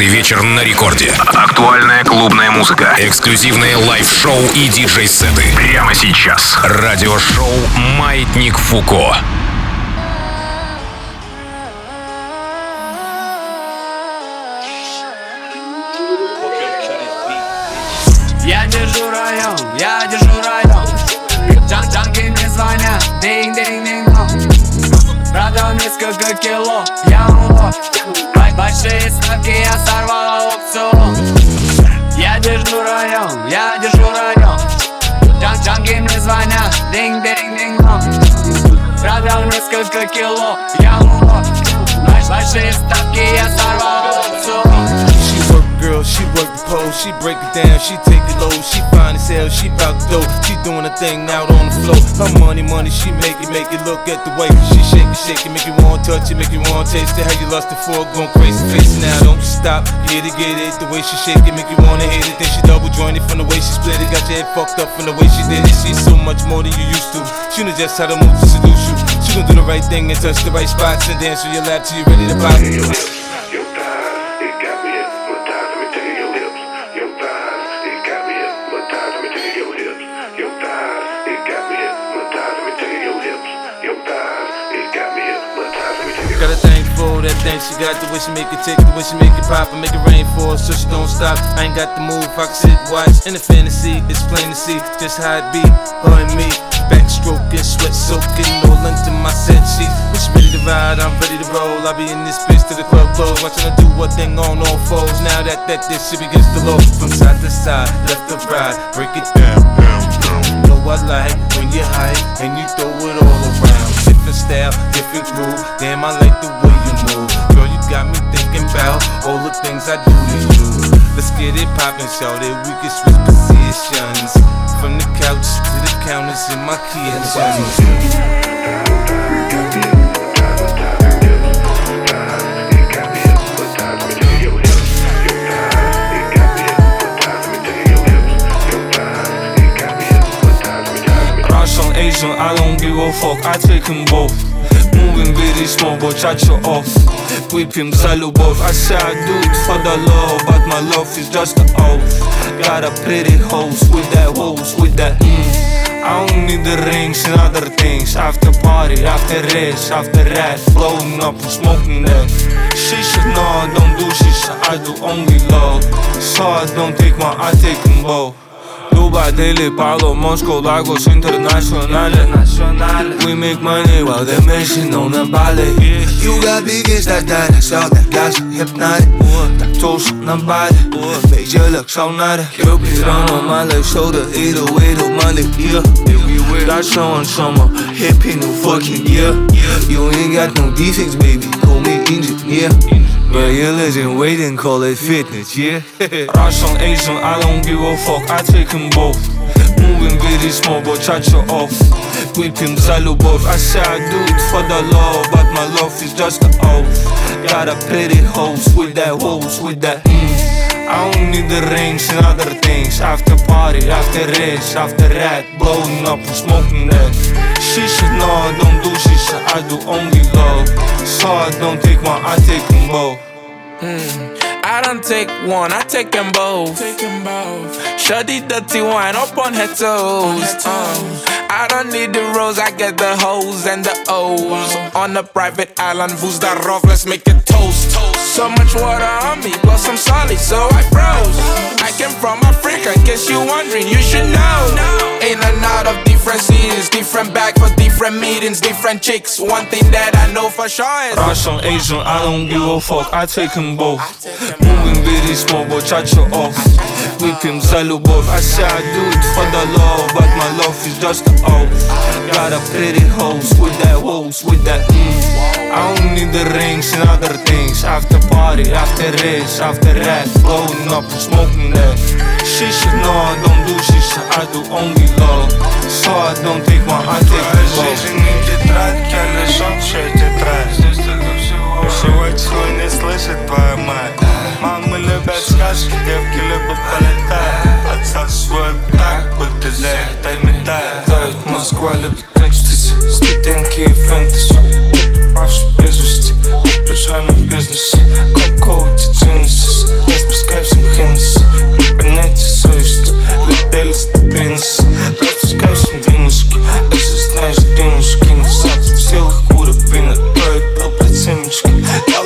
каждый вечер на рекорде. Актуальная клубная музыка, эксклюзивные лайв-шоу и диджей-сеты. Прямо сейчас. Радиошоу «Маятник Фуко». Я держу район, я держу район. Джанги мне звонят, динг-динг-динг. Продал несколько кило, я улов. Большие ставки, я сорвал аукцион. Я держу район, я держу район. Джанги мне звонят, динг-динг-динг. Продал несколько кило, я улов. Большие ставки, я сорвал аукцион. Girl, she work the pole, she break it down, she take it low, she fine as hell, she bout to go, she doing her thing out on the floor. Her money, she make it, look at the way she shake it, make you wanna touch it, make you wanna taste it. How you lustin' for it, going crazy, face it now, don't you stop, get it, the way she shake it, make you wanna hit it. Then she double jointed from the way she split it, got your head fucked up from the way she did it. She's so much more than you used to, she knows just how to move to seduce you. She gon' do the right thing and touch the right spots and dance on your lap till you ready to pop it. Got a thing for that thing, she got the way she make it tick, the way she make it pop and make it rain for her so she don't stop. I ain't got the move, I can sit, watch, in the fantasy, it's plain to see just how it be, her and me. Backstroking, sweat soaking, all under my set sheets. When she ready to ride, I'm ready to roll. I be in this bitch till the club close, watching her do her thing on all fours. Now that this shit begins to low, from side to side, left to right, break it down, down, down. You know I like when you hype and you throw it all around. Different style, different groove, damn I like the way you move. Girl, you got me thinking about all the things I do to you. Let's get it poppin', shout it, we can switch positions. From the couch to the counters in my kitchen. Russian, Asian, I don't give a fuck, I take them both. Moving very small, but touch you off. Whip him, salubov. I say I do it for the love, but my love is just an oath. Got a pretty host with that I don't need the rings and other things. After party, after race, after rat, blowing up and smoking that. She should know I don't do shit, I do only love. So I don't take one, I take them both. Dubai, Delhi, Paolo, Moscow, Lagos, Internationale. We make money while they're messing on the ballet. You got big ass that shout that got you hypnotic. Tak toast na body, make you look so naughty. You be down on my left shoulder, 808 on my left ear. Got someone summer, happy new fucking year. You ain't got no defects, baby, call me engineer. But you're legend, waiting, call it fitness, yeah. Russian, Asian, I don't give a fuck, I take them both. Moving very small, but touch you off. Whip him, salubov. I say I do it for the love, but my love is just an oath. Got a pretty host with that I don't need the rings and other things. After party, after race, after rat, blowing up and smoking that. She should know I don't do shit, I do only love. So I don't take one, I take them both. I don't take one, I take them both. Shorty dirty wine up on her toes. I don't need the rose, I get the hoes and the O's. On a private island, who's that rough? Let's make it toast. So much water on me, plus I'm solid, so I froze. I came from Africa, in case you wondering, you should know. In and out of different cities, different bag for different meetings, different chicks. One thing that I know for sure is Russian, Asian, I don't give a fuck, I take them both. Moving very small, but touch you off. Whip him, salubov. I say I do it for the love, but my love is just an oath. Got a pretty host with that I don't need the rings and other things. After party, after race, after rat, blowing up and smoking that. She should know I don't do shit, I do only love. So I don't take one, I take the Жизнь не тетрадь, колесом все тетрадь. Всего не слышит твоя мать. Мамы любят сказки, девки любят полетать. Отсасывают так, будто за их металл. Москва любит экстази, студентки и фэнтези. Ваши безвести, прижали в бизнесе. Какого ты тюнисис?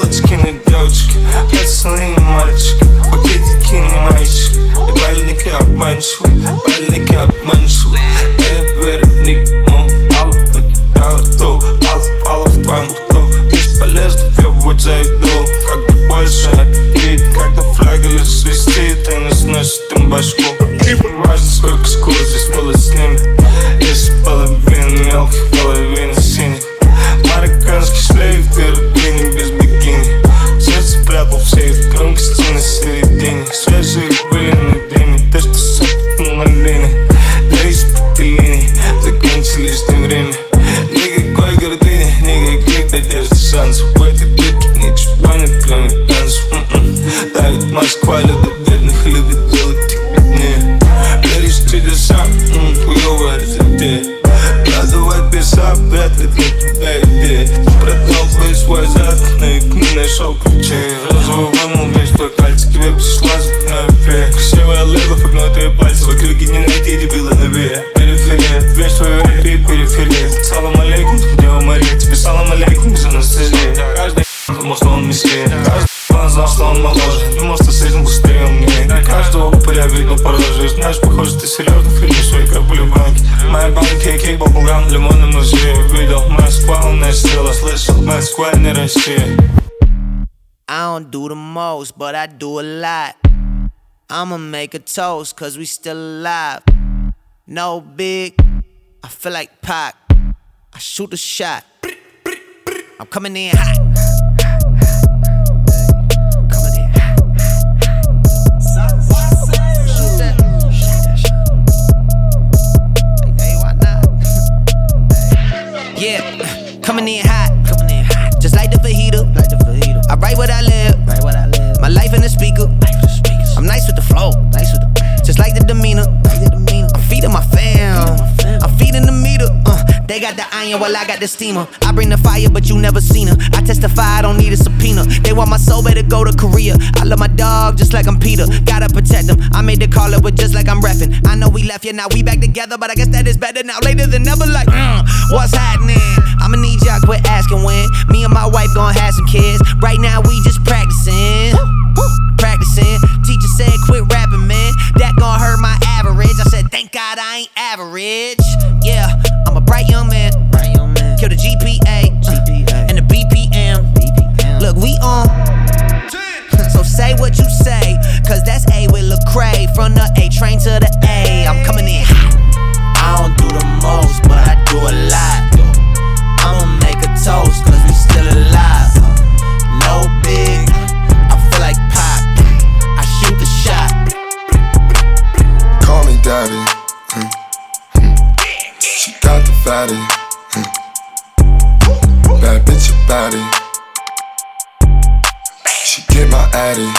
Девочки на девочки, пацаны мальчики, пакетики не мальчики, и больники обманчивы, больники обманчивы. Я верю в них, мало покидала то, мало в твоем рту. Бесполезно, я в путь зайду, как бы больше аппетит, когда флягель свистит, и не сносит им башку. Не важно, сколько скур здесь было с ними, если половина мелких, половина синих. Марокканский шлейф, терпение без бикини. Сердце прятал в сейф, громкости на середине. Свежие были на дыме, то, что сопит на линии. Для испытаний закончили лишнее время. Никакой гордыни, никаких надежд и шансов. В этой битке ничего нет, кроме танцев. Давит Москва, любит бедных, любит делать их беднее. Веришь в чудеса, хуёвая затея. Продавать писа, вряд ли для тебя идея. Продал бы свой зад, но и не нашел ключей. Розовый вымыл весь твой пальцы, тебе пришла зубная фея. Красивая леба, погнутые пальцы, в округе не найти дебила новее. Периферия, весь твой рейд, периферия. Салам алейкум, Дева Мария, тебе салам алейкум, без анестезии. Каждый думал, что он мессия. Каждый знал, что он моложе, думал, что с этим быстрее умнее. Каждого упыря видел по роже. Знаешь, похоже, ты серьезно фильмишь свои капли в банке. Моя банки, кейк, баблгам, лимонным ножи. Видел, Москва, умная сила, слышал, Москва, не Россия. I don't do the most, but I do a lot. I'ma make a toast, cause we still alive. No big, I feel like Pac. I shoot a shot. I'm coming in hot. Yeah, coming in hot, just like the fajita. I write what I live, my life in the speaker. I'm nice with the flow, just like the demeanor. I'm feeding my fam, I'm feeding the meter. They got the iron while I got the steamer. I bring the fire, but you never seen her. I testify, I don't need a subpoena. They want my soul, better go to Korea. I love my dog just like I'm Peter. Gotta protect him. I made the call, it was just like I'm reffing. I know we left, yeah, now we back together, but I guess that is better now. Later than never, like, what's happening? I'ma need y'all quit asking when. Me and my wife gon' have some kids. Right now we just practicing. Teacher said quit rapping, man. That gon' hurt my average. I said thank God I ain't average. Yeah, I'm a bright young man. Kill the GPA and the BPM. Look, we on. So say what you say, cause that's A with Lecrae. From the A train to the A, I'm coming in hot. I don't do the most, but I do a lot. I'ma make a toast, cause we still alive. No big, I feel like Pac. I shoot the shot. Call me daddy. She got the fatty. Bad bitch about it. She get my addy.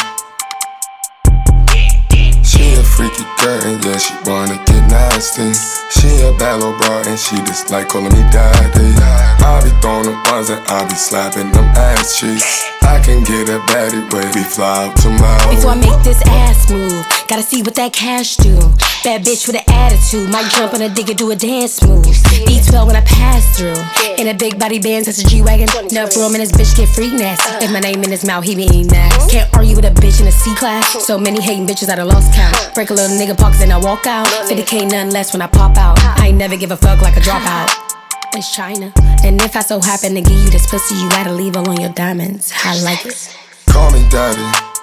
She a freaky girl and yeah, she wanna get nasty. She a bad little bra and she just like calling me daddy. I be throwing them ones and I be slapping them ass cheeks. I can get a baddie way, we fly out to Maui. Before I make this ass move, gotta see what that cash do. Bad bitch with an attitude, might jump on a digger, do a dance move. D12 when I pass through, in a big body Benz, that's a G-Wagon. Enough room and this bitch get freak nasty. If my name in his mouth, he be eating ass. Can't argue with a bitch in a C-class. So many hating bitches I done lost count. Break a little nigga pockets and I walk out. 50K nothing less when I pop out. I ain't never give a fuck like a dropout. It's China. And if I so happen to give you this pussy, you gotta leave all on your diamonds. I like it. Call me daddy.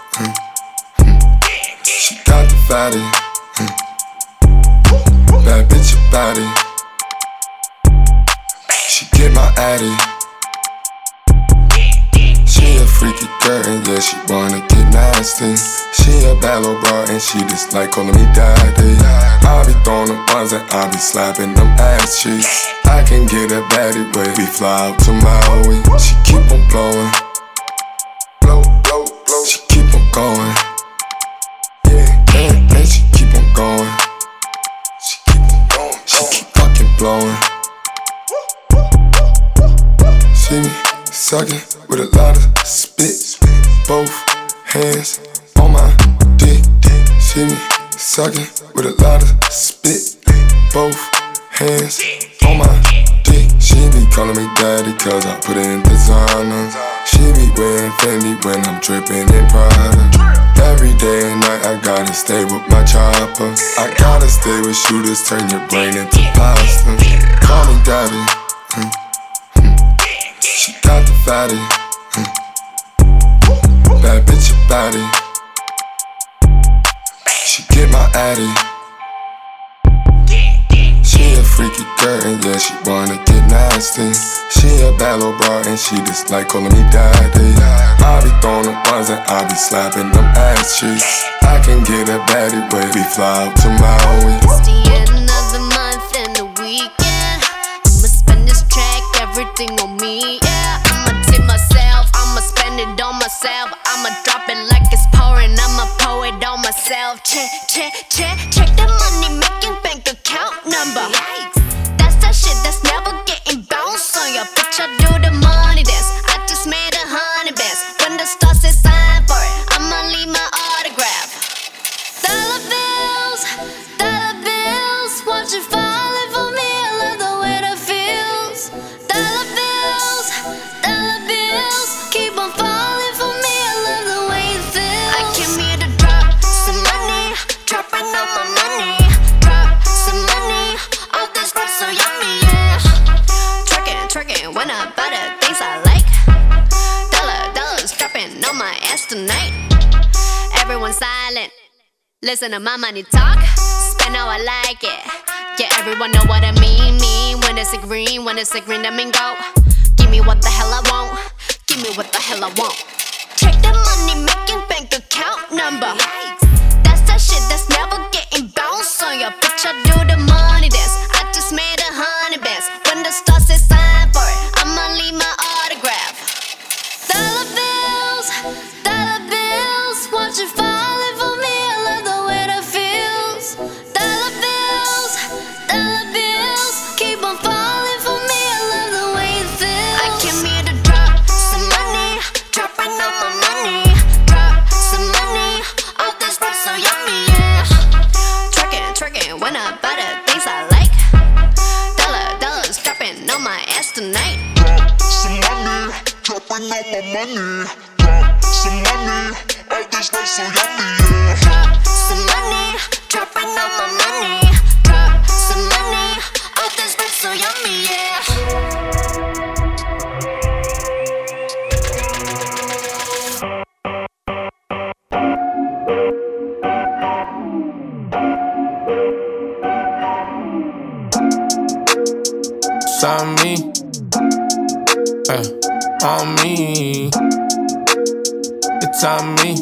She got the fatty. Bad bitch about it. She get my addy. She a freaky girl and yeah, she wanna get nasty. She a bad little bra and she just like calling me daddy. I be throwing them ones and I be slapping them ass cheeks. I can get a baddie way, we fly out to Maui. She keep on blowing. Blow, blow, blow. She keep on going. Yeah, and she keep on going. She keep on going. She keep fucking blowing. See me sucking with a lot of spit. Both hands on my dick. See me sucking with a lot of spit. Both hands on my dick. She be calling me daddy cause I put in designer. She be wearing Fendi when I'm dripping in Prada. Every day and night I gotta stay with my chopper. I gotta stay with shooters, turn your brain into pasta. Call me daddy. She got the fatty. Bad bitch about it. She get my addy. She a freaky girl and yeah, she wanna get nasty. She a bad little bra and she just like calling me daddy. I be throwing them ones and I be slapping them ass cheeks. I can get a baddie way we fly out to Maui. It's the end of the month and the weekend. I'ma spend this track, everything on me, yeah. I'ma tip myself, I'ma spend it on myself. I'ma drop it like it's pouring, I'ma pour it on myself. Check the money making bank account number. That's that shit that's never getting bounced on your bitch. I do the money dance, I just made 100 bands. When the stars say sign for it, I'ma leave my autograph. Dollar bills, watch it falling for me. I love the way that feels. Dollar bills, keep on falling for me. I love the way it feels. I came here to drop some money, dropping all my money. Drop some money, all this stuff so yummy, yeah. Twerking when I buy the things I like. Dollars dropping on my ass tonight. Everyone silent, listen to my money talk. Spend how I like it. Yeah, everyone know what I mean. When it's a green, that mean go. Give me what the hell I want. Give me what the hell I want. Check the money making bank account number. That's that shit that's never getting bounced on your bitch. I do the money dance, I just made 100 bands. When the stars say sign for it, I'ma leave my autograph. Dollar bills, watch it falling for me. I love the way that feels. Dollar bills, keep on falling for me. I love the way it feels. I came here to drop some money, dropping all my money. Drop some money, all this stuff so yummy, yeah. Twerking when I buy the things I like. Dollars dropping on my ass tonight. Drop some money, dropping all my money. Drop some money, all this stuff so yummy, yeah. Drop some money, dropping all my money. Drop some money, all this stuff so yummy, yeah. It's on me, on me. It's on me,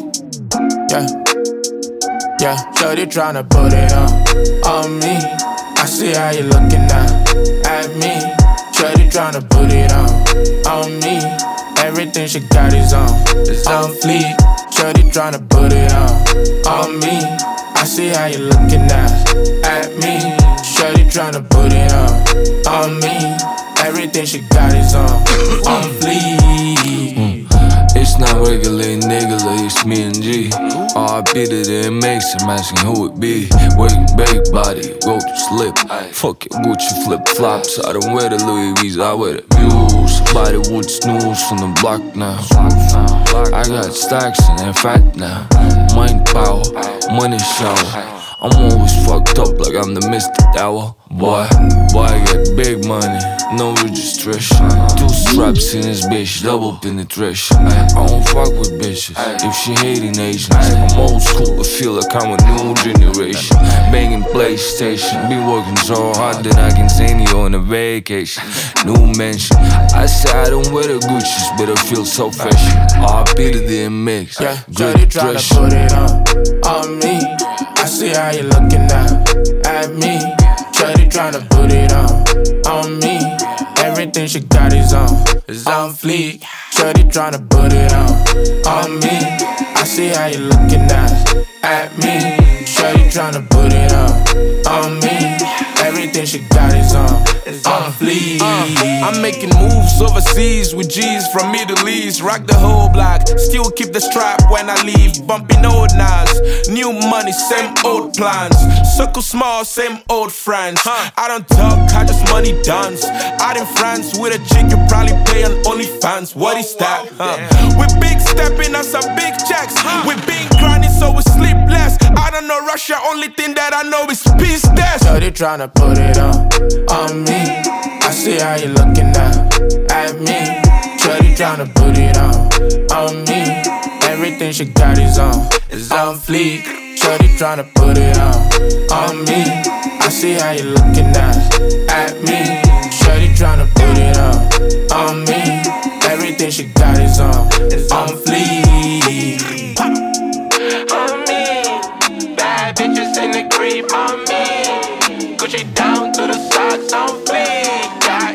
yeah. Shorty tryna put it on me. I see how you looking now at me. Shorty tryna put it on me. Everything she got is on fleek. Shorty tryna put it on me. I see how you looking now at me. Shorty tryna put it on me. Everything she got is on fleek. It's not regular, nigga, it's me and G. R.I.P. to the MX, I'm asking who it be. Working big body, go to slip. Fuck it, Gucci flip flops. I don't wear the Louis V's, I wear the Muse. Body wood snooze from the block now. I got stacks and they're fat now. Mind power, money shower. I'm always fucked up like I'm the Mr. Dower. Boy, I get big money, no registration. 2 straps in this bitch, double penetration. I don't fuck with bitches if she hating Asians. I'm old school, but feel like I'm a new generation. Banging PlayStation, be working so hard that I can send you on a vacation. New mansion, I say I don't wear the Gucci's, but I feel so fresh. R.I.P. to the MX, yeah, Jody tryna put it on me. I see how you looking now at me. Shorty tryna put it on me. Everything she got is on fleek. Shorty tryna put it on me. I see how you looking now at me. Shorty tryna put it on me. Everything she got is on fleek. I'm making moves overseas with G's from Middle East. Rock the whole block, still keep the strap when I leave. Bumping old knives, new money, same old plans. Circle small, same old friends. I don't talk, I just money dance. Out in France with a chick, you probably pay on OnlyFans. What is that? We big stepping on some big checks. We been grinding so we sleep less. I don't know Russia, only thing that I know is peace death. So they tryna put it on me. I see how you looking now at me. Shorty tryna put it on me. Everything she got is on fleek. Shorty tryna put it on me. I see how you looking now at me. Shorty tryna put it on me. Everything she got is on fleek. On me, bad bitches in the creep on me. Gucci down to the socks on fleek.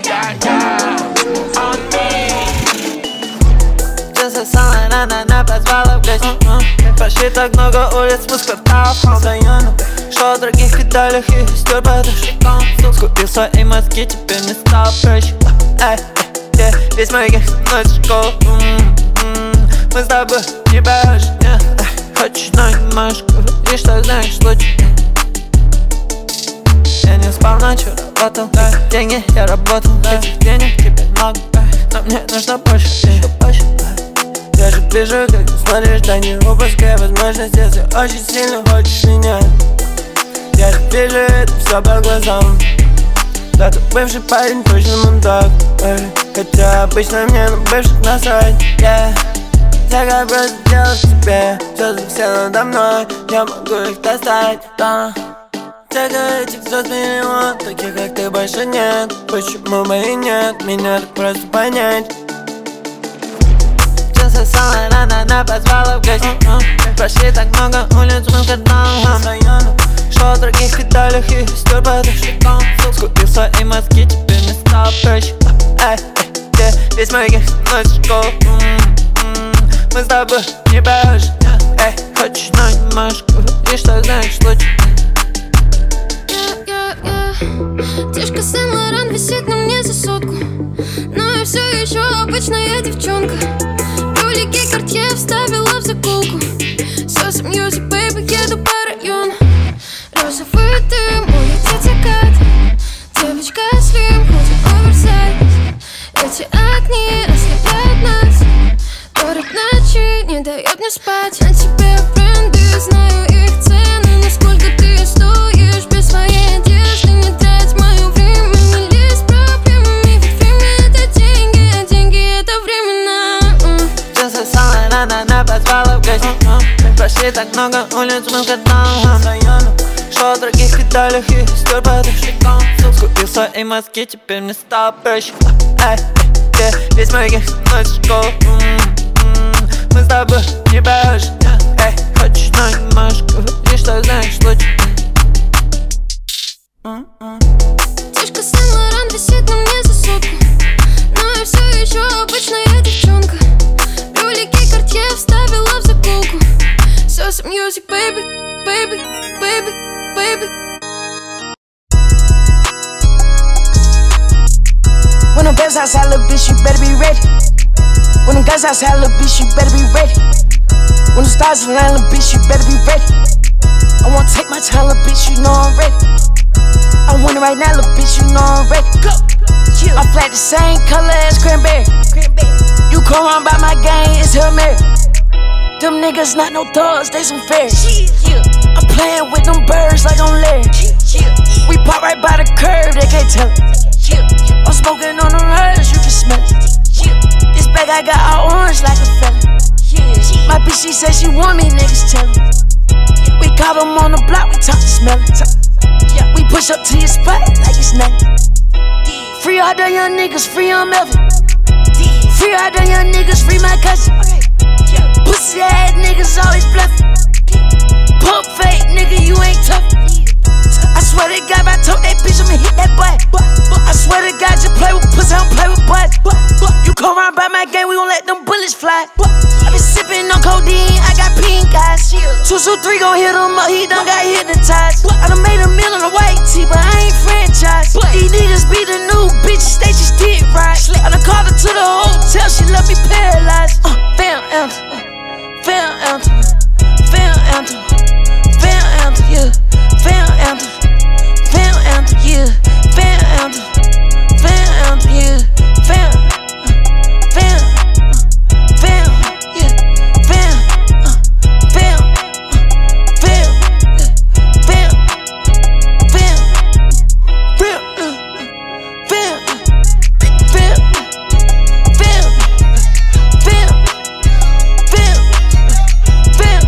On me. Часы самая на позвала в гости. Прошли так много улиц, мы с кварталов района. Шел в других деталях и стер подушком. Скупил свои мозги, теперь мне стало проще. Весь мой гех ночь в школу. Мы с тобой не похожи. Хочешь, но не можешь говорить, что знаешь лучше. Я не спал ночью, работал. Деньги я работал, этих денег теперь много. Но мне нужно больше, еще больше. Я же вижу, как ты смотришь, да не упускай возможность. Если очень сильно хочешь меня, я же вижу это все по глазам. Да ты бывший парень, точно мудак. Хотя обычно мне на бывших насрать. Я просто делать тебе, звезды все надо мной. Я могу их достать, да. Тех этих звезд миллион, таких как ты больше нет. Почему бы и нет, меня так просто понять. Часы самая рано позвала в гости. Прошли так много улиц, мы в кварталах района. Шел в других деталях и стер подушком. Скупил свои мозги, теперь мне стало проще. Весь мой гех ночь в школу. Мы с тобой не похожи. Хочешь, но не можешь говорить, что знаешь лучше. Тишка Сен-Лоран висит на мне за сотку. Но я все еще обычная девчонка. Брюлики Картье вставила в заколку. Соса Music, baby, еду по району. Розовый дым, улетит закат. Девочка слим, ходит оверсайз. Эти огни ослепляют нас. Город ночи не дает мне спать. На тебе бренды, знаю их цены. Насколько ты стоишь без своей одежды. Не трать мое время, не лезь с проблемами. Ведь время это деньги, а деньги это временно. Часы самая рано позвала в гости. Прошли так много улиц, мы в кварталах района. Шел в других деталях и стер подушком. Скупил свои мозги, теперь мне стало проще. Весь мой гех ночь в школу. Мы с тобой не похожи. Хочешь, но не можешь говорить, что знаешь лучше. Тишка Сен-Лоран висит на мне за сотку. Но я все еще обычная девчонка. Брюлики Картье вставила в заколку. Соса Music, baby, baby, baby, baby. When them babes outside, little bitch, you better be ready. When them guys outside, little bitch, you better be ready. When the stars align, little bitch, you better be ready. I wanna take my time, little bitch, you know I'm ready. I want it right now, little bitch, you know I'm ready. Go. I flat the same color as cranberry. You come around by my gang, it's Hail Mary. Them niggas not no thugs, they some fairies. I'm playing with them birds like I'm Larry. We pop right by the curb, they can't tell it. I'm smoking on them herbs, you can smell it. This bag I got all orange like a fella. My bitch, she said she want me, niggas tell her. We caught them on the block, we talk to smell it. We push up to your spot like it's nothing. Free all the young niggas, free on Melvin. Free all the young niggas, free my cousin. Pussy ass niggas always bluffing. Pump fake nigga, you ain't tough. I swear to God, if I told that bitch, I'ma hit that butt. I swear to God, just play with pussy, I don't play with butts. You come around by my game, we gon' let them bullets fly. I been sippin' on codeine, I got pink eyes. 223 gon' hit him up, he done got hypnotized. I done made a meal on the white tee, but I ain't franchise. These niggas be the new bitches, they just did right. I done called her to the hotel, she left me paralyzed. Fair anthem, fair anthem, fair anthem, fair anthem, yeah. Fair anthem, fair anthem, yeah. Fair anthem, fair anthem, yeah. Fair, fair, fair, yeah. Fair, fair, fair, fair, fair, fair, fair, fair, fair, fair, fair, fair.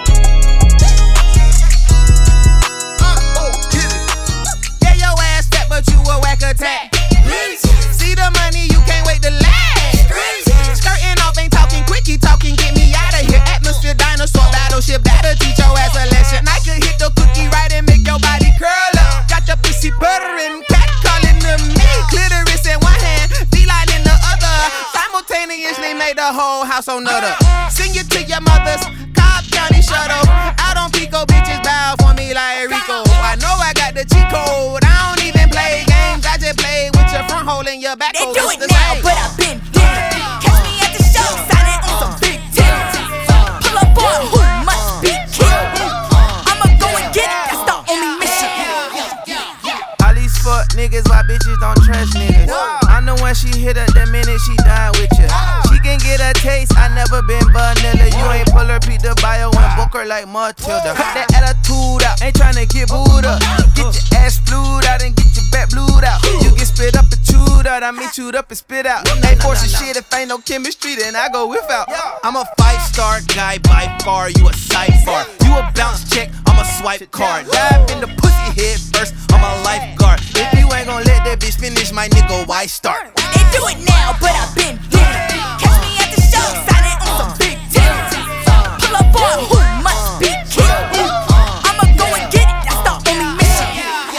Yeah, your ass fat, but you a whack attack. See the money, you can't wait to last. Skirting off, ain't talking quickie talking, get me out of here. Atmosphere, dinosaur, battleship, that'll teach your ass a lesson. I could hit the cookie right and make your body curl up. Got your pussy buttering, cat calling to me. Clitoris in one hand, feline in the other. Simultaneously made the whole house on nutter. Sing it to your mothers, Cobb County shuttle. Out on Pico, bitches bow for me like Rico. I know I got the cheat code, I don't even play games. I just play with your front hole and your back hole. They do it now, but I've been dead. Catch me at the show, signing on some big tips. Pull up on who must be killed. I'ma go and get it, that's the only mission. All these fuck niggas, why bitches don't trust niggas? I'm the one she hit up the minute she done with you. She can get a taste, I never been vanilla. You ain't pull her, beat the bio and book her like Matilda. Cut that attitude out, ain't tryna get booed up. Get your ass flued out and get your back blued out. You get spit up and chewed out, I mean chewed up and spit out. Ain't forcing shit if ain't no chemistry, then I go without. I'm a 5-star guy by far, you a sidebar. You a bounce check, I'm a swipe card. Dive in the pussy head first, I'm a lifeguard. If you ain't gon' let that bitch finish, my nigga, why start? They do it now, but I've been dead. Catch me at the show, signing on some big tips. Pull up on who must be killed. I'ma go and get it, that's the only mission.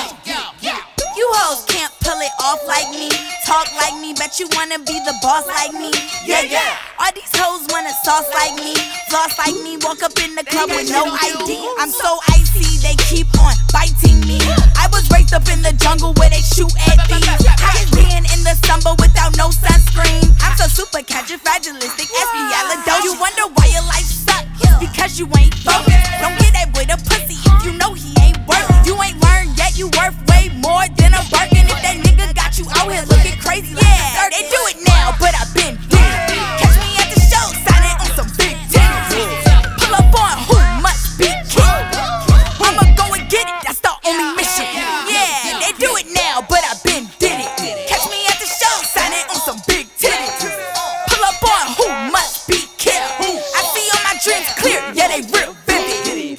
You hoes can't pull it off like me, talk like me, bet you wanna be the boss like me. Yeah, yeah. All these hoes wanna sauce like me, floss like me, walk up in the club with no ID. I'm so icy, they keep on biting me. I was raised up in the jungle where they shoot at thieves. I is being in the summer without no sunscreen. I'm so super fragilistic, espialidocious. You wonder why your life sucks, because you ain't focused. Don't get that boy the pussy if you know he ain't worth it. You ain't learned yet, you worth way more than a Birkin. If that nigga got you out here looking crazy, yeah, they do it now, but I've been dead. Catch me at the show, signing on some big tips. Pull up on who must be killed. I'ma go and get it, that's the only mission. Yeah, they do it now, but I've been did it. Catch me at the show, signing on some big titties. Pull up on who must be killed. I see all my dreams clear, yeah, they real vivid.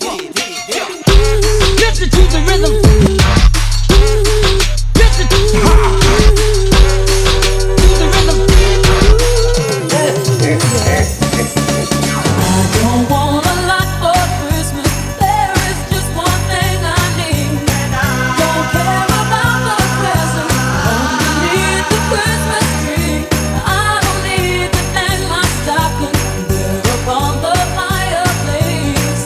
Listen to the rhythm. Listen to the rhythm. I don't want a lot for Christmas. There is just one thing I need. Don't care about the present. Only need the Christmas tree. I don't need to hang my stocking there upon the fireplace.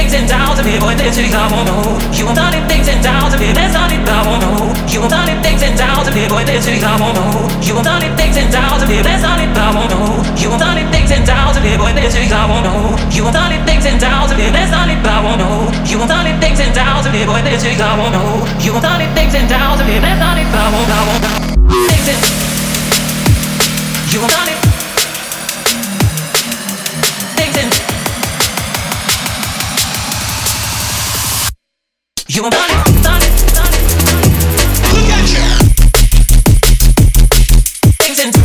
things and downs of it, boy, this is I won't know. You won't done things and downs of it, that's all it I won't know. You won't done things and downs of it, boy, this is I won't know. You won't done things and downs of it, that's all it I won't know. You won't done things and downs of it, boy, this is I won't know. You won't done things and downs of it, that's all it I won't know. You won't done things and downs of it, boy, this is I won't know. You won't done things and downs of it, that's all it I won't know. Things and you won't done it. Things and you won't done it, done it, done it. Look at you. Things and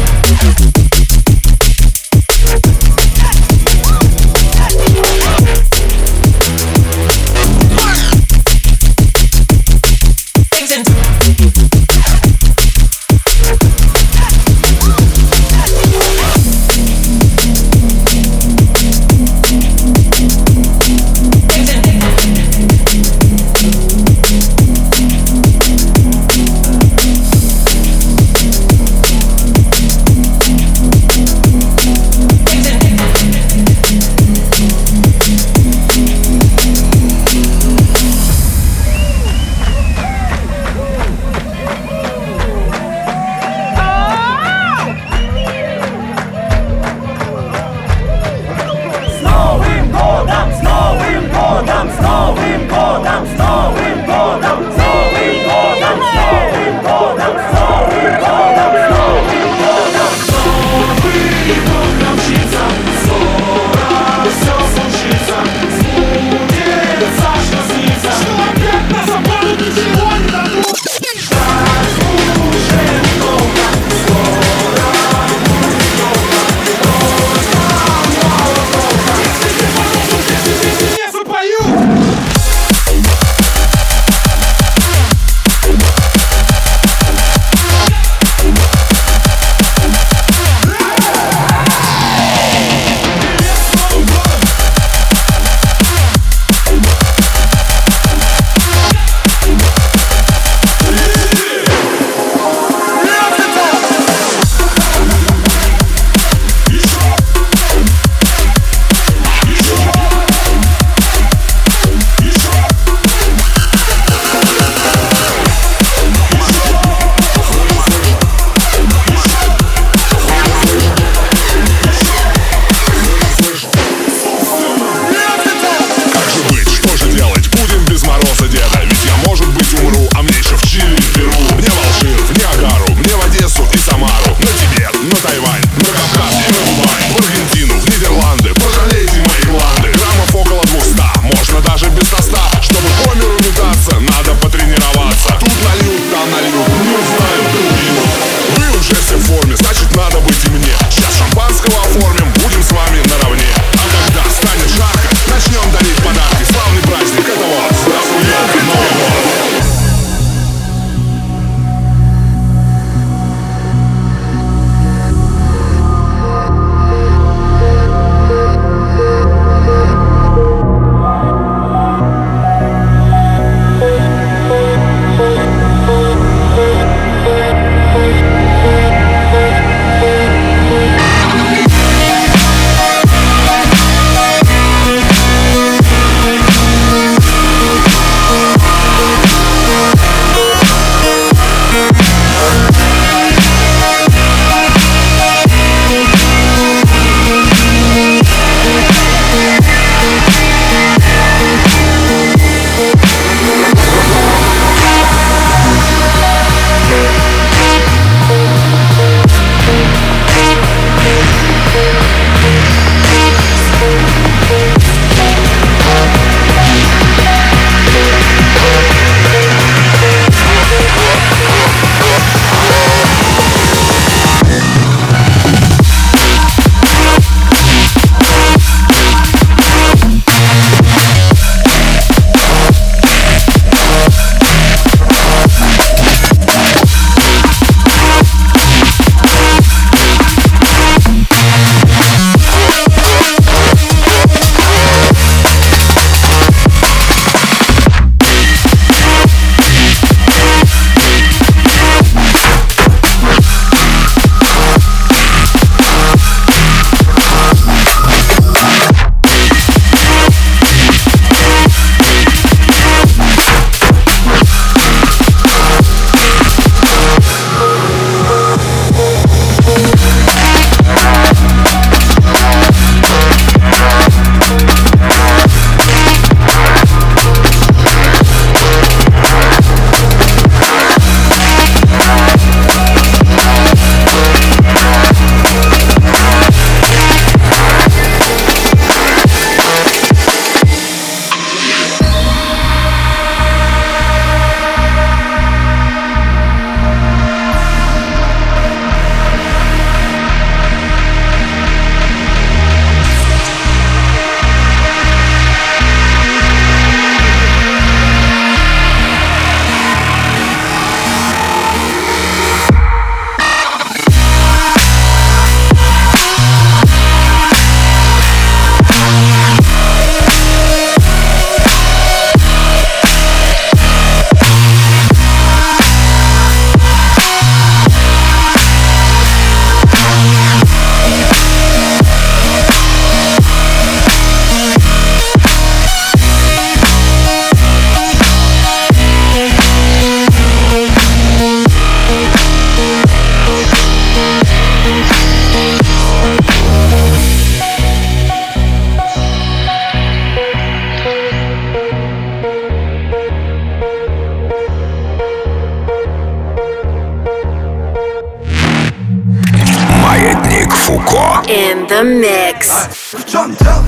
the mix. В чем дело?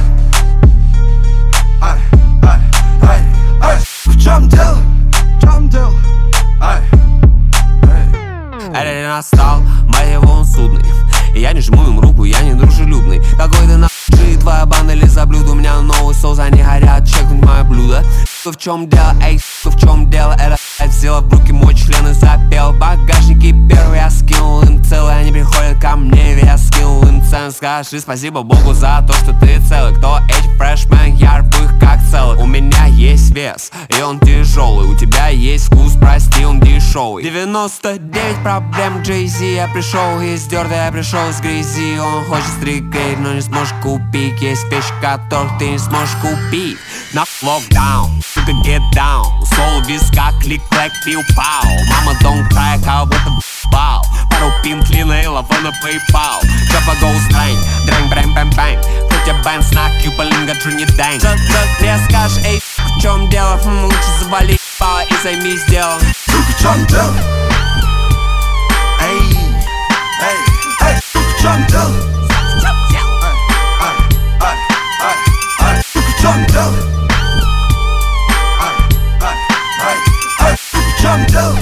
В чем дело? В чем дело? Это не настал, мать его, он судный. И я не жму им руку, я не дружелюбный. Какой ты нахуй, твоя банда или за блюдо. У меня новый соус, они горят, чекнуть мое блюдо. В чем дело, эй, в чем дело? Это взяла в руки мой член и запел. Багажники первые я скинул им целые. Они приходят ко мне, ведь я скинул им цену. Скажи спасибо Богу за то, что ты целый. Кто эти фрешмен, я рву их как целый. У меня есть вес, и он тяжелый. У тебя есть вкус, прости, он дешевый. 99 проблем, Jay-Z. Я пришел из дёрта, я пришел из грязи. Он хочет стригейт, но не сможешь купить. Есть вещи, которых ты не сможешь купить. На локдаун, сука, get down. Соло виска, клик-клэк, пиу-пау. Мама, don't cry, кого будто бал. Пару пинт, лина и лава на PayPal. Жопа go strange, дрэнг, брэнг, бэнг, бэнг. Хотя бэнг, снак, кьюбалинга, джуни дэнг. Мне скажешь, эй, в чем дело? Лучше завали пала и займись делом. В чем дело? Эй, эй, эй, в чем дело? В чем дело? В чем дело?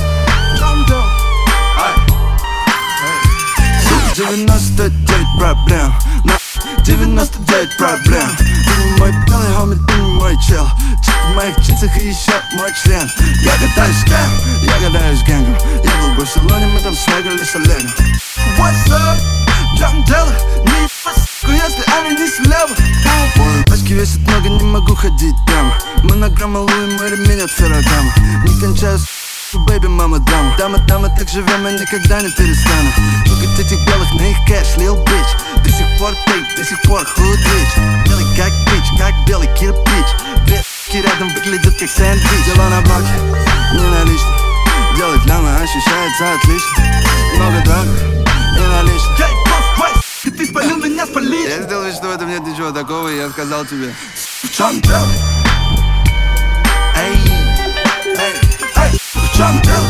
99 проблем, 99 проблем. Ты не мой белый хомит, ты не мой чел. Чип в моих джинсах и еще мой член. Я гадаюсь с кем? Я гадаюсь с гэнгом. Я был в Барселоне, мы там свегали с Оленом. What's up? В чем дело? Не ебать, если они не слева. Пачки весят много, не могу ходить прямо. Монограмма Луи, мой ремень от Феррагама. Не кончаю с бэйби, мама, дама. Дама, так живем, я никогда не перестану. Трогать этих белых на их кэш, лил бич. До сих пор тейп, до сих пор худ рич. Белый как бич, как белый кирпич. Две с**ки рядом выглядят как сэндвич. Дела на блоке, не налично. Делать ляма ощущается отлично. Много драк и налично. И ты спалил меня, спалить. Я сделал вид, что в этом нет ничего такого, и я сказал тебе. В чем дело? Эй, эй, эй, в чем дело?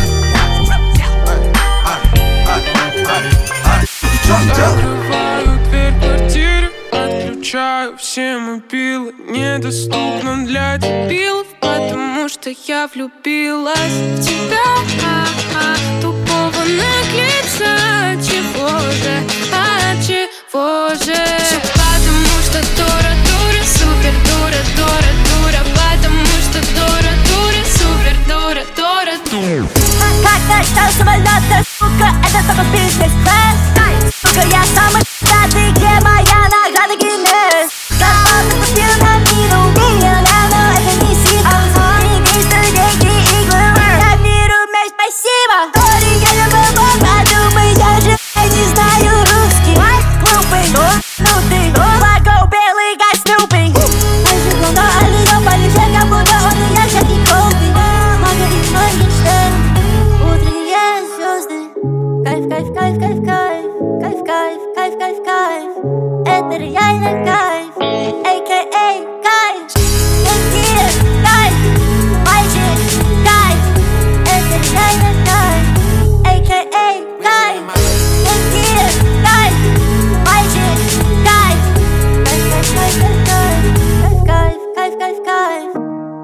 В чем дело? Открываю дверь квартиры, отключаю все мобилы. Недоступно для дебилов, потому что я влюбилась в тебя. Тупого наглеца, чего же, чего же? Все потому что дура, супер дура, потому что дура, супер дура. Как достал самолета, сука, это только бизнес-класс. Сука, я самый пятый, где моя награда Гиннес. Зарплату купил на миллион, но это не секрет. Деньги, деньги и главы, я беру мяч, спасибо. Тори, я не могу подумать, я же не знаю русский. Глупый, ну ты, лаго белый, как Снупи. Ожигло, но алло, полетел, как будто он и я, как и Колби. Мага и Моргенштерн, утренние звезды. Кайф, кайф, кайф, кайф, кайф. Кайф, кайф, кайф, кайф, кайф. Это реально кайф, a.k.a. кайф. Какие кайф, мальчик, кайф. Это реально кайф, a.k.a. кайф. Какие кайф, мальчик, кайф. Кайф, кайф, кайф, кайф, кайф, кайф, кайф, кайф.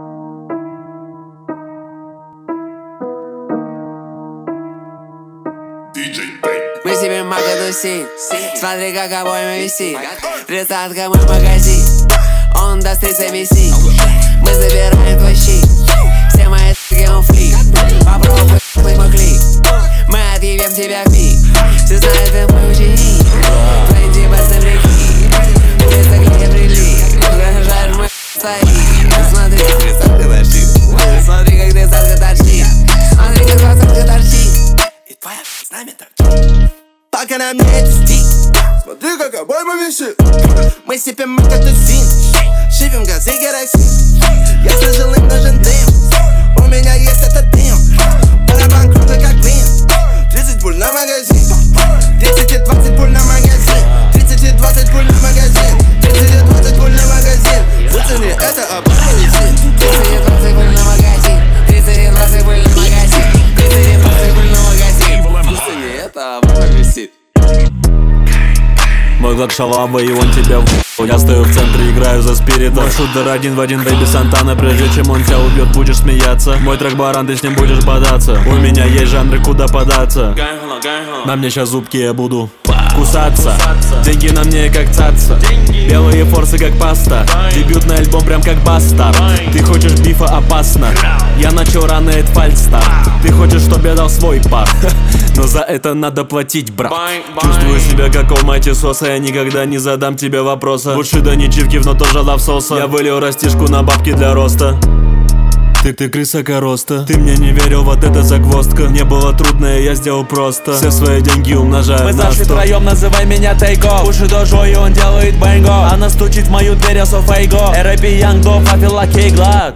Мы себе магадуси, смотри, как обоими висит. Тридцатка мой магазин, он даст 30 висит. Мы забираем твой щит, все мои т***ки он флик. Попробуй т***й мой клик, мы отъебем тебя в миг. Все знают, ты мой ученик, твои типа земляки. Улица, где прилив, жаришь мой стоит. Смотри, тридцатка торчит, смотри, как тридцатка торчит. Смотри, как двадцатка торчит. И твоя с нами торчит. Пока на мне это стик, смотри, как обойма висит. Мы сипем макатусин, шипим газы керосин. Я сложил им нужен дым, у меня есть этот дым. Барабан крутой как блин, 30 пуль на магазин. 30 и 20 пуль на магазин. 30 и 20 пуль на магазин. 30 и 20 пуль на магазин. В цене это обойма висит. 30 и 20 пуль на магазин. 30 и 20 пуль на магазин. 30 и 20 пуль на магазин. В цене это обойма висит. Мой как шалава, и он тебя в. Я стою в центре, играю за спирита. Мой шутер один в один, бэйби Сантана. Прежде чем он тебя убьет, будешь смеяться. Мой трек баран, ты с ним будешь бодаться. У меня есть жанры, куда податься. На мне сейчас зубки, я буду кусаться. Деньги на мне как цаца. Белые форсы как паста. Дебютный альбом прям как бастард. Ты хочешь бифа, опасно. Я начал рано, это фальстарт. Ты хочешь, чтоб я дал свой пар. Но за это надо платить, брат. Чувствую себя как Almighty Соса. Я никогда не задам тебе вопроса. Лучше да не чивкив, но тоже лавсоса. Я вылил растишку на бабки для роста. Ты крыса короста. Ты мне не верил, вот это загвоздка. Мне было трудно, и я сделал просто. Все свои деньги умножаю Мы на 100. зашли втроем, называй меня Тейко. Уши дожо, и он делает бэнго. Она стучит в мою дверь, я so фейго. R.I.P. Young Dog, I feel like a glad.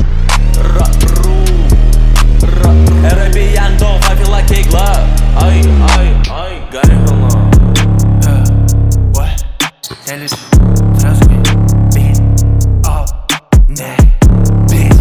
R.I.P. Young Dog, I feel like a glad. Ай, горело. Я лишь сразу бит, о, не, бит,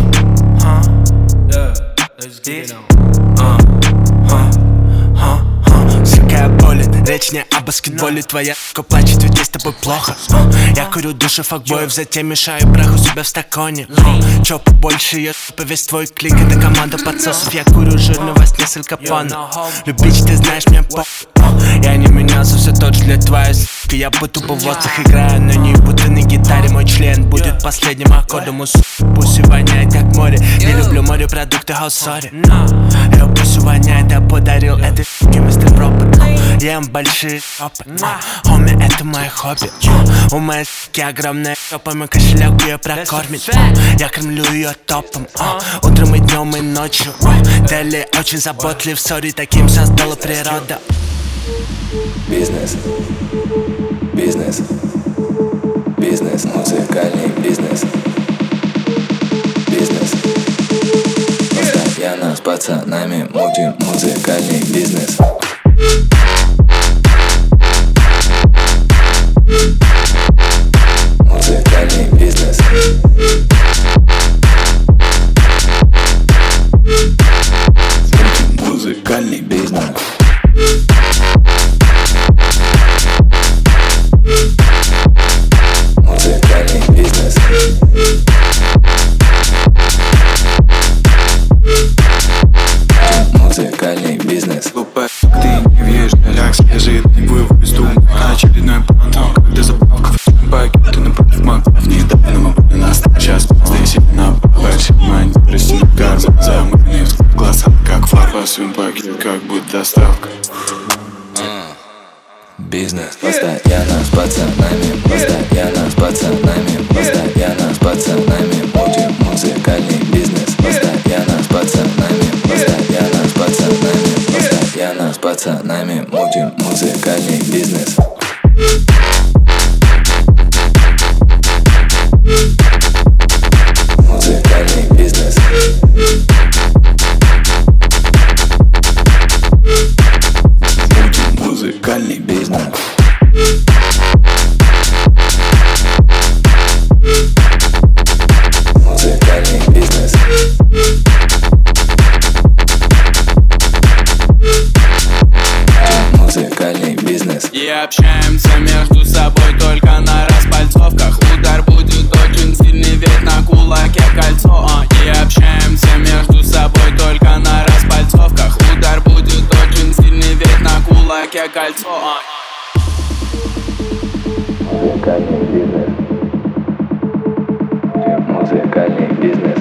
Всякая болит, речь не о баскетболе. Твоя сука плачет, ведь ей с тобой плохо. Я курю души факбоев, затем мешаю прах у себя в стаконе. Чё побольше ее супа, весь твой клик, это команда подсосов. Я курю жирного с несколько панов. Любить, ты знаешь, мне по. Я не менялся, все тот же для твоей сука. Я будто бы в воздух играю, но не будто на гитаре. Мой член будет последним аккордом. У пусть воняет как море. Не люблю морепродукты, how sorry. Пусть воняет, я подарил этой суке мистер Пропер. Ем большие шопы, хоми, это мое хобби. У моей суки огромная жопа, мой кошелек ее прокормит. Я кормлю ее топом, утром и днем и ночью. Дели очень заботлив, сори, таким создала природа. Бизнес, бизнес, бизнес, музыкальный бизнес. Бизнес. Постоянно с пацанами мутим музыкальный бизнес. Музыкальный бизнес. Музыкальный бизнес. Музыкальный бизнес. Музыкальный бизнес. Ты не въешь, ляг скажи, не вывод из дома. Очередной план, когда заправка в пакеты напротив маков. Не дай нам обойти нас, сейчас ты сильно направишь. Мань, растянуть гармон, замыленный в глазах, как фарба. Свин пакет, как будет доставка. Бизнес. Постоянно с пацанами, постоянно с пацанами, постоянно с пацанами мутим музыкальный бизнес. Постоянно с пацанами, постоянно с пацанами, постоянно с пацанами мутим музыкальный бизнес. Музыкальный бизнес. Музыкальный бизнес. Музыкальный бизнес. Музыкальный бизнес. И общаемся между собой только на распальцовках. Удар будет очень сильный, ведь на кулаке кольцо. И общаемся между собой только на распальцовках. Удар будет очень сильный, ведь на кулаке кольцо. Музыкальный бизнес. Музыкальный бизнес.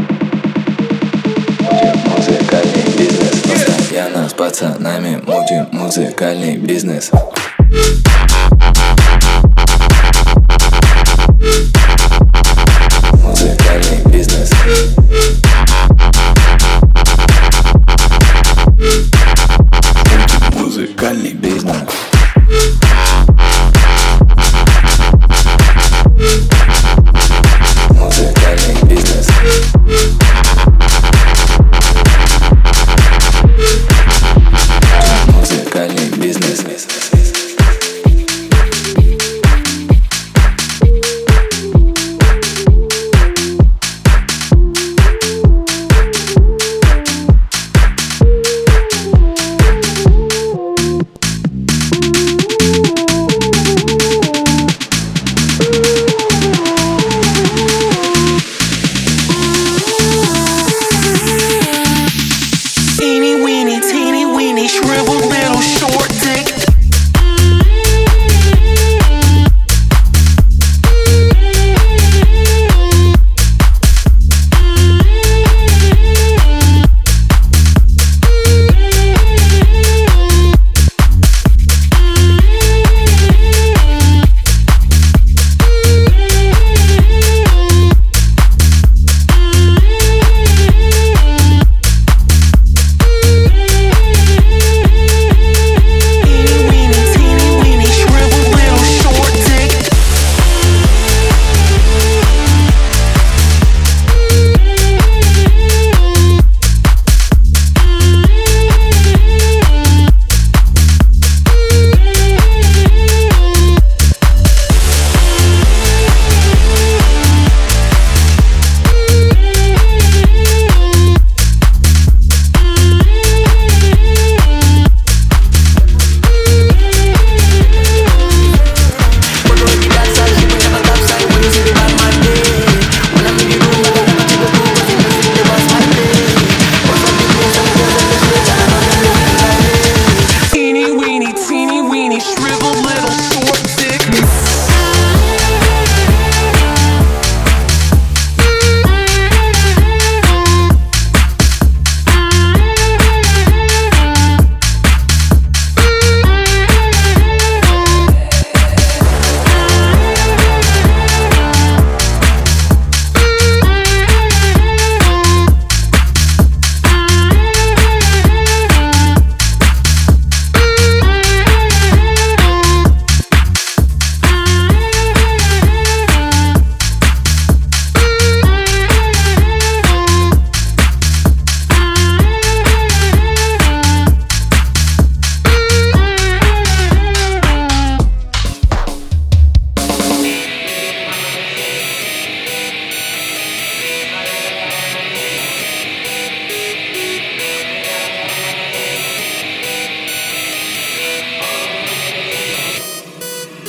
Музыкальный бизнес. Постоянно с пацанами мутим музыкальный бизнес. Музыкальный бизнес. Музыкальный бизнес. Музыкальный бизнес. Музыкальный бизнес.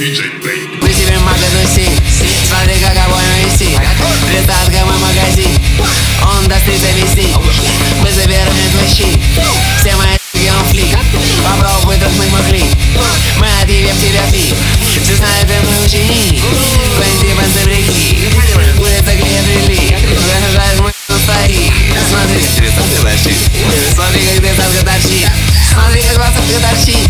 Мы себе магазин, смотри, как обоим висит. Присадка мой магазин, он даст 30 вести. Мы забираем твой щит, все мои он флик. Попробуй трахнуть мой клик, мы отъебем тебя пик. Ты знаешь, ты мой ученик, твои панцы прикид. Улица клея прилик, выражаешь мой стоит. Смотри, как тридцатка торчит, смотри, как тридцатка торчит, смотри, как двадцатка торчит.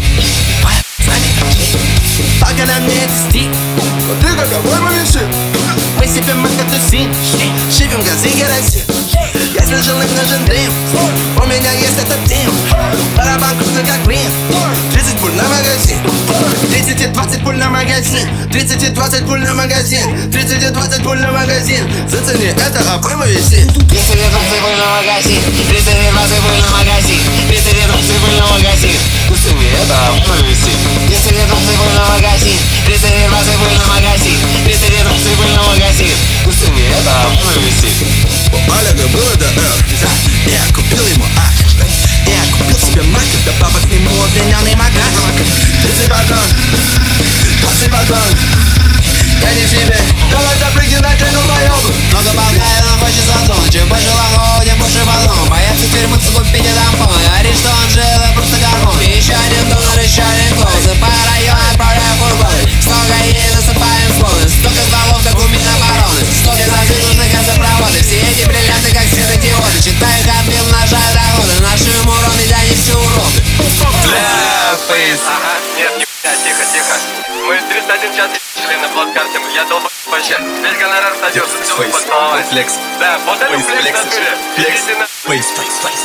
Пока на мне это стиль, вот ты как обойма висит. Мы себе магазин, шипим газы керосин. Я слышал, им нужен дрим, у меня есть этот тим. Барабан крутой как блин, 30 пуль на магазин, 30 и 20 пуль на магазин, 30 и 20 пуль на магазин, 30 и 20 пуль на магазин. Зацени, это обойма висит. 30 и 20 пуль на магазин, 30 и 20 пуль на магазин, 30 и 20 пуль на магазин. Зацени, это обойма висит. 30 и 20 пуль на магазин, 30 и 20 пуль на магазин, 30 и 20 пуль на магазин. Зацени, это обойма висит. У Олега было до F, я купил ему ак. Я купил себе мак, добавок к нему обвиненный магаз. 30 батон, 20 батон. Я не в себе, давай запрыгни на тяну боёбу. Много болтает, он хочет золотом. Чем больше лохов, тем больше потом. Боятся тюрьмы, купить и тампон. Говорит, что он жил, это просто гормон. Еще один донор, еще один клоун. Засыпая район, отправляю фургоны. Столько ей засыпаем склоны. Столько стволов, как у Минобороны. Столько засыпанных газопроводы. Все эти бриллианты, как светодиоды. Читаю их отбил, нажаю доходы. Наши ему уроны, да не все уроды. Бля, фейс. Ага, нет, не тихо, тихо. Мы 31 час шли на плацкарте, я долб вообще. Весь гонорар садился, все выпадало. Флекс. Да, вот это флекс на туре. Флекс. Идите на... Фейс, фейс, фейс.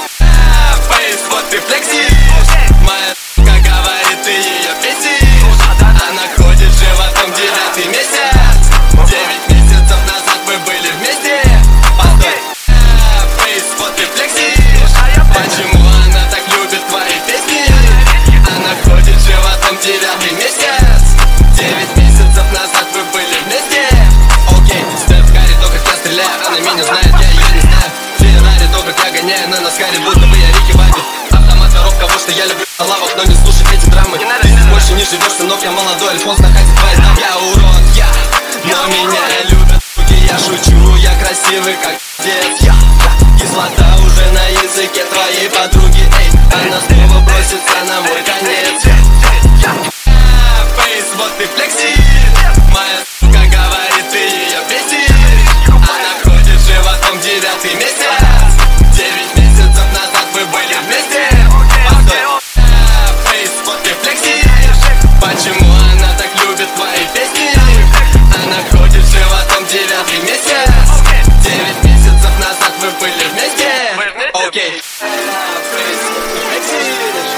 Фейс, вот ты флекси. Моя как говорит, ты ее беси. Она ходит животом 9 месяц. 9 месяцев назад мы были вместе. Постой. Фейс, вот ты флекси. Почему она так любит твои песни? Она ходит животом 9 месяц. 9 месяцев назад вы были вместе. Окей, Стеф Карри, то как я стреляю. Она меня знает, я ее не знаю. Феррари, то как я гоняю на наскаре, будто бы я Рики Бобби. Автомат коров, кого что я люблю на лавах, но не слушай эти драмы. Ты больше не живешь, сынок, я молодой, Альфонс находит твои знамя. Я урод, но меня любят суки. Я шучу, я красивый, как дед. Кислота уже на языке твоей подруги. Эй, она снова бросится на мой конец. Фейс, вот ты флекси. Моя сука говорит, ты ее беси. Она ходит животом 9 месяц. 9 месяцев назад мы были вместе. Постой. Фейс, вот ты флекси. Почему она так любит твои песни? Она ходит животом 9 месяц. 9 месяцев назад вы были вместе. Окей. Фейс, вот ты флекси.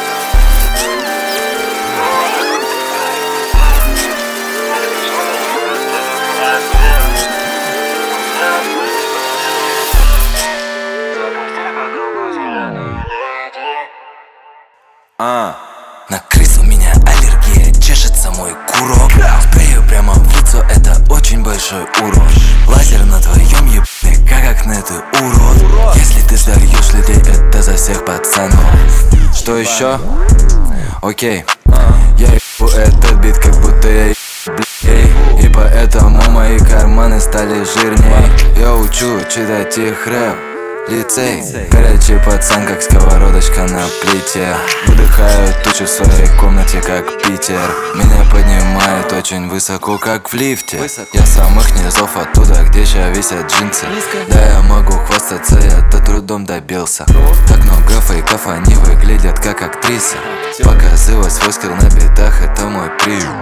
На крыс у меня аллергия, чешется мой курок. Спрею прямо в лицо, это очень большой урон. Лазер на твоем ебне, как акне, ты урод. Если ты сдаешь людей, это за всех пацанов. Что еще? Окей, я ебу этот бит, как будто я ебу, и поэтому мои карманы стали жирней. Я учу читать их рэп. Лицей, горячий пацан, как сковородочка на плите. Выдыхаю тучу в своей комнате, как Питер. Меня поднимает очень высоко, как в лифте. Я с самых низов оттуда, где сейчас висят джинсы. Да, я могу хвастаться, я-то трудом добился. Так много фейков, они выглядят как актрисы. Показывать свой скилл на битах, это мой прием.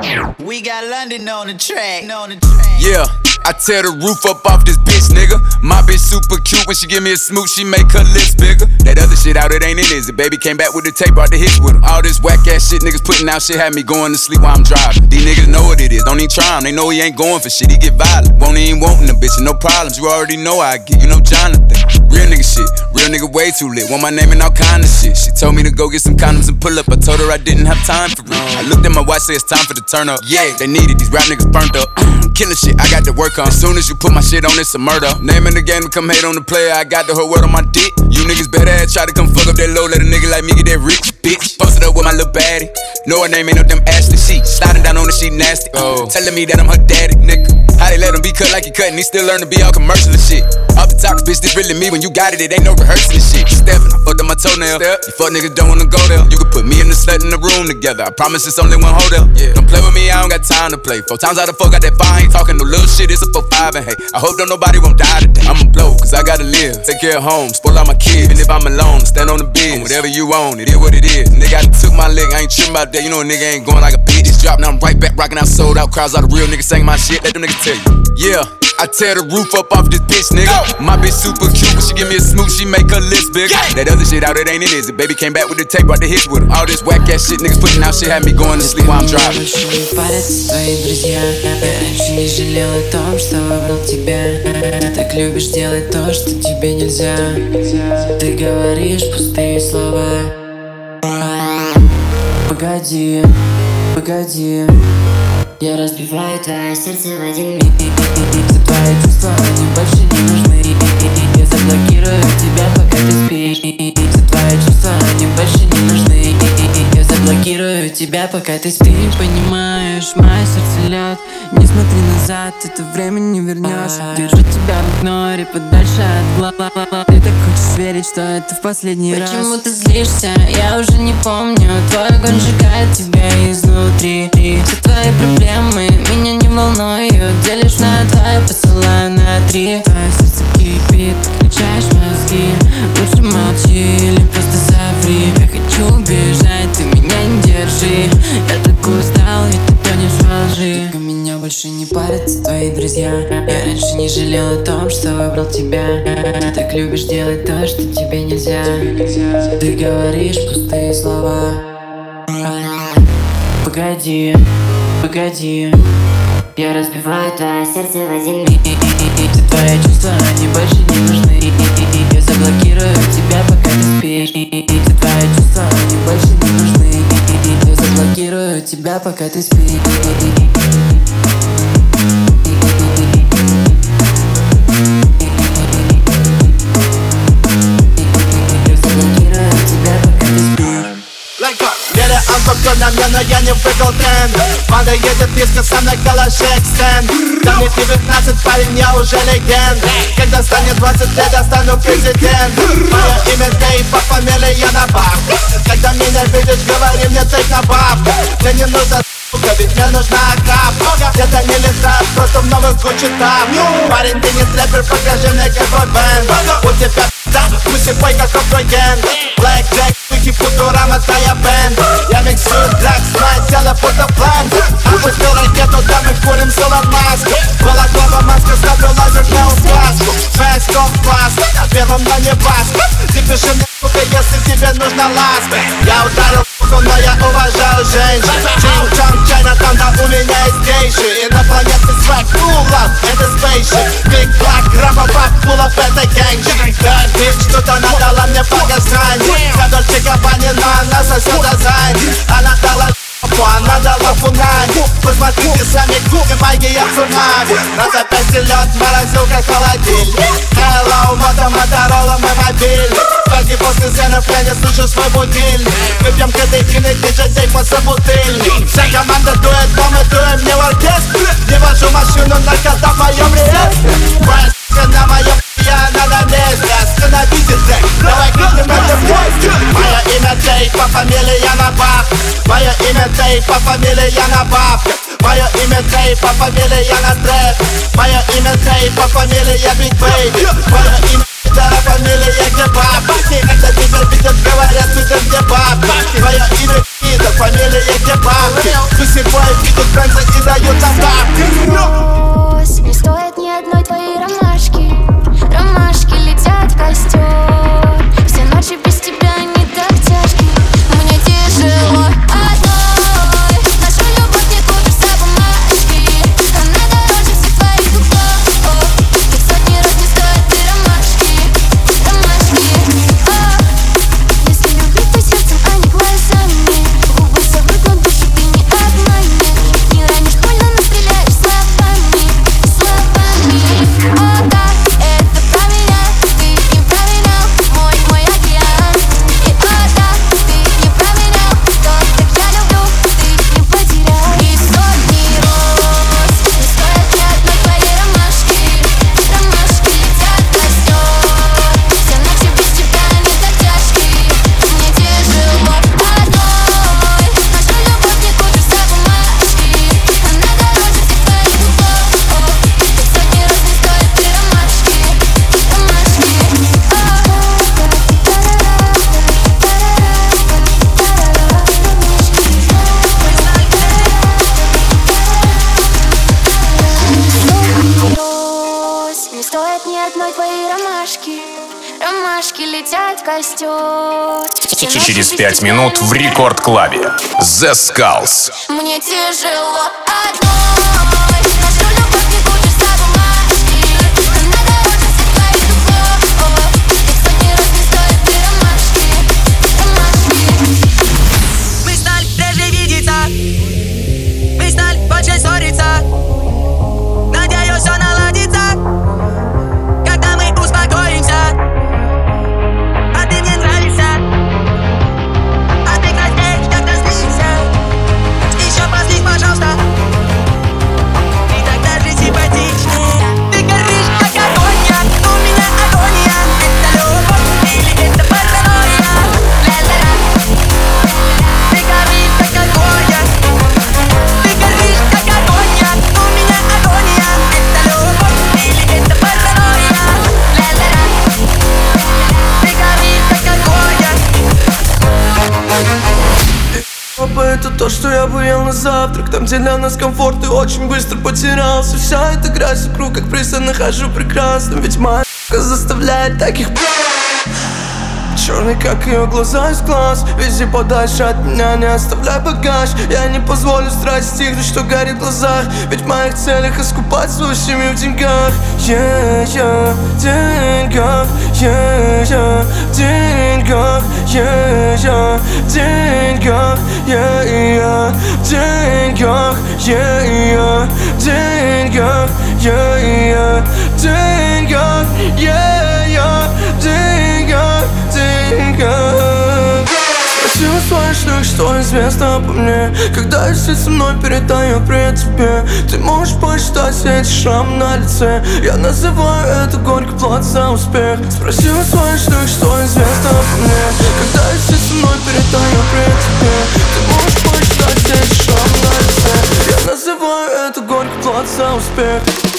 Yeah, I tear the roof up off this bitch, nigga. My bitch super cute when she give me a smooch, she make her lips bigger. That other shit out, it ain't it, is it? Baby came back with the tape, brought the hits with him. All this whack ass shit niggas putting out shit had me going to sleep while I'm driving. These niggas know what it is, don't even try him. They know he ain't going for shit, he get violent. Won't even wantin' the bitch, and no problems. You already know I get, you know Jonathan. Real nigga shit, real nigga way too lit. Want my name and all kind of shit. She told me to go get some condoms and pull up. I told her I didn't have time for it. I looked at my watch, say it's time for the turn up. Yeah, they needed these rap niggas burnt up. Killing shit, I got to work come. As soon as you put my shit on, it's a murder. Name in the game to come hate on the player. I got the whole world on my dick. You niggas better ass try to come fuck up that low. Let a nigga like me get that rich bitch. Posted up with my little baddie. Know her name ain't up them Ashley sheets. Sliding down on the sheet nasty. Telling me that I'm her daddy, nigga. How they let him be cut like he cut and he still learn to be all commercial and shit. Off the top, bitch, this really me. When you got it, it ain't no rehearsal and shit. Steppin', I fucked up my toenail. You fuck niggas don't wanna go there. You can put me and the slut in the room together. I promise it's only one hotel. Don't play with me, I don't got time to play. 4 times out of 4 got that fire. I ain't talking no little shit, it's a 4-5 and hey, I hope don't nobody won't die today. I'ma blow, cause I gotta live. Take care of home, spoil all my kids. Even if I'm alone, stand on the biz. Whatever you own, it is what it is. Nigga, I took my lick, I ain't trippin' about that. You know a nigga ain't going like a bitch. It's dropped, now I'm right back, rockin' out, sold out. Crowds, all the real niggas saying my shit. Let them niggas tell you. Yeah, I tear the roof up off this bitch, nigga. My bitch super cute, but she give me a smooth, she make her lips bigger. That other shit out, it ain't it, is it? Baby came back with the tape, brought the hits with her. All this whack ass shit niggas putting out shit had me going to sleep while I'm driving. Больше не парятся твои друзья. Я раньше не жалел о том, что выбрал тебя. Ты так любишь делать то, что тебе нельзя. Ты говоришь пустые слова. Погоди, погоди. Я разбиваю твое сердце в один миг. Все твои чувства, они больше не нужны. Я заблокирую тебя, пока ты спишь. Все твои чувства, они больше не нужны. Я заблокирую тебя, пока ты спишь. Понимаешь, мое сердце лед. Не смотри назад, это время не вернешь. Держу тебя в игноре, подальше от глаз. Ты так хочешь верить, что это в последний раз. Почему ты злишься? Я уже не помню. Твой огонь сжигает тебя изнутри. Все твои проблемы меня не волнуют. Делишь на 2, я посылаю на 3. Твое сердце кипит, включаешь мозги. Лучше молчи или просто соври. Я хочу убежать, ты меня не держи. Я так устал, ведь ты тонешь во лжи. Только меня больше не парятся твои друзья. Я раньше не жалел о том, что выбрал тебя. Ты так любишь делать то, что тебе нельзя. Ты говоришь пустые слова. Погоди, погоди. Я разбиваю твое сердце в один миг. Все твои чувства, они больше не нужны. Я заблокирую тебя, пока ты спишь. Все твои чувства, они больше не нужны. Я заблокирую тебя, пока ты спишь. Спокойно мне, но я не выиграл тренд. Банда едет близко, со мной калаши экстенд. Да мне 19, парень, я уже легенд. Когда станет 20 лет, я стану президент. Мое имя Дейв, по фамилии я на баб. Когда меня видишь, говори мне тейк на баб. Мне не нужна сука, ведь мне нужна кап. Где-то не летает, просто в новых куче там. Парень, ты не рэпер, покажи мне какой бэнд. У тебя пусть и бой, как ген. Black Jack, Вики, Футурама, твоя бэнд. Я миксую дракс, мое тело будто план. Опустил ракету, да мы курим с Илон Маск. Балаклава, маска, ставлю лазер на указку. Fast off класс, первым на небас. Ты пиши мне, сука, если тебе нужна ласка. Я ударил пуху, но я уважаю женщин. Чин-чан, Чайна, там, да у меня есть гейши. Инопланетный свайк, pull up, это spaceship. Big black, рапа, пап, pull up, это гангшит. Bad bitch, что-то надала мне по газрани. За Дольче Габбани, но она сосет азань. Она дала она дала фунами. Посмотрите сами, и магия цунами. На запястье лед, морозилка, холодильник. Hello, Моторола, мой мобильник. Только после сценов я не слышу свой будильник. Мы пьем кадетины, диджей по собутыльник. Вся команда дует, но мы дуем не в оркестре. Не вожу машину на кота в моем реестре. На моем я на месте. Остановите трек, давай крикнем это вместе. Мое имя Дейв, по фамилии я на баб. Мое имя Дейв, по фамилии я на баб. Мое имя Дейв, по фамилии я на трэп. Мое имя Дейв, по фамилии я Биг Бэйби. Мое имя Дара, фамилия где бабки. Когда тебя видят, говорят, видят где бабки. Мое имя Ида, фамилия где бабки. Все бои видят бензы и дают нам бабки. Не стоит ни одной твоей ромашки. Ромашки летят в костер. Все ночи без тебя не так тяжки. Мне тяжело одной. Нашу любовь не купишь за бумажки. Она дороже всех твоих духов. И в сотни раз не стоит и ромашки. Ромашки. Если любить, то сердцем, а не глазами. Губы совыкнут, души ты не обманешь. Не ранишь больно, но стреляешь словами. Словами. хватает ни одной твоей ромашки. Ромашки летят в костер. Через 5 минут в Рекорд Клабе. The Skulls. Мне тяжело одной. Нашу любовь не купишь за бумажки. Надо очень светла и любовь. Ведь сотни раз не стоит ты ромашки. Ромашки. Мы стали реже видеться. Мы стали больше ссориться. Надеюсь, все наладится, когда мы успокоимся. А ты мне нравишься. А ты краснеешь, когда злишься. Еще проснись, пожалуйста. Ты тогда же симпатичный. Ты горишь, как агония. У меня агония. Это любовь или это паранойя? Ля-ля-ля. Ты горишь, как агония. Ты горишь, как агония. У меня агония. Это любовь или это паранойя? Ля-ля-ля. Ты горишь, как агония. Папа, это то, что я бы ел на завтрак. Там, где для нас комфорт, и очень быстро потерялся. Вся эта грязь вокруг, как приз, я нахожу прекрасным. Ведь моя заставляет таких черный, как ее глаза из глаз. Вези подальше от меня, не оставляй багаж. Я не позволю страсть стихнуть, что горит в глазах. Ведь в моих целях искупать свою семью в деньгах. Yeah, в деньгах. Yeah, в деньгах. Yeah, в деньгах. Yeah, в деньгах. Yeah, в деньгах. Yeah, в деньгах. Yeah, в деньгах. Спроси у своих, что известно обо мне. Когда я сидит со мной, передаю привет тебе. Ты можешь посчитать все эти шрамы на лице. Я называю это горький плат за успех. Спроси у своих, что известно обо мне. Когда я сидит со мной, передаю привет тебе. Ты можешь посчитать все эти шрамы на лице. Я называю это горький плат за успех.